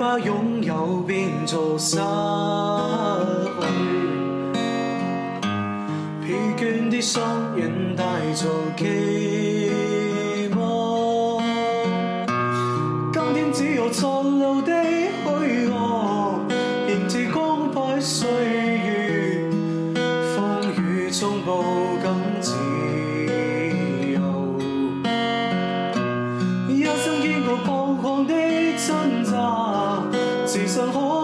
把擁有變做失去，疲倦的雙眼帶着期望，今天只有殘留的虛妄，迎接光輝歲月，風雨中步更自由，一生經過彷徨的掙扎，自信可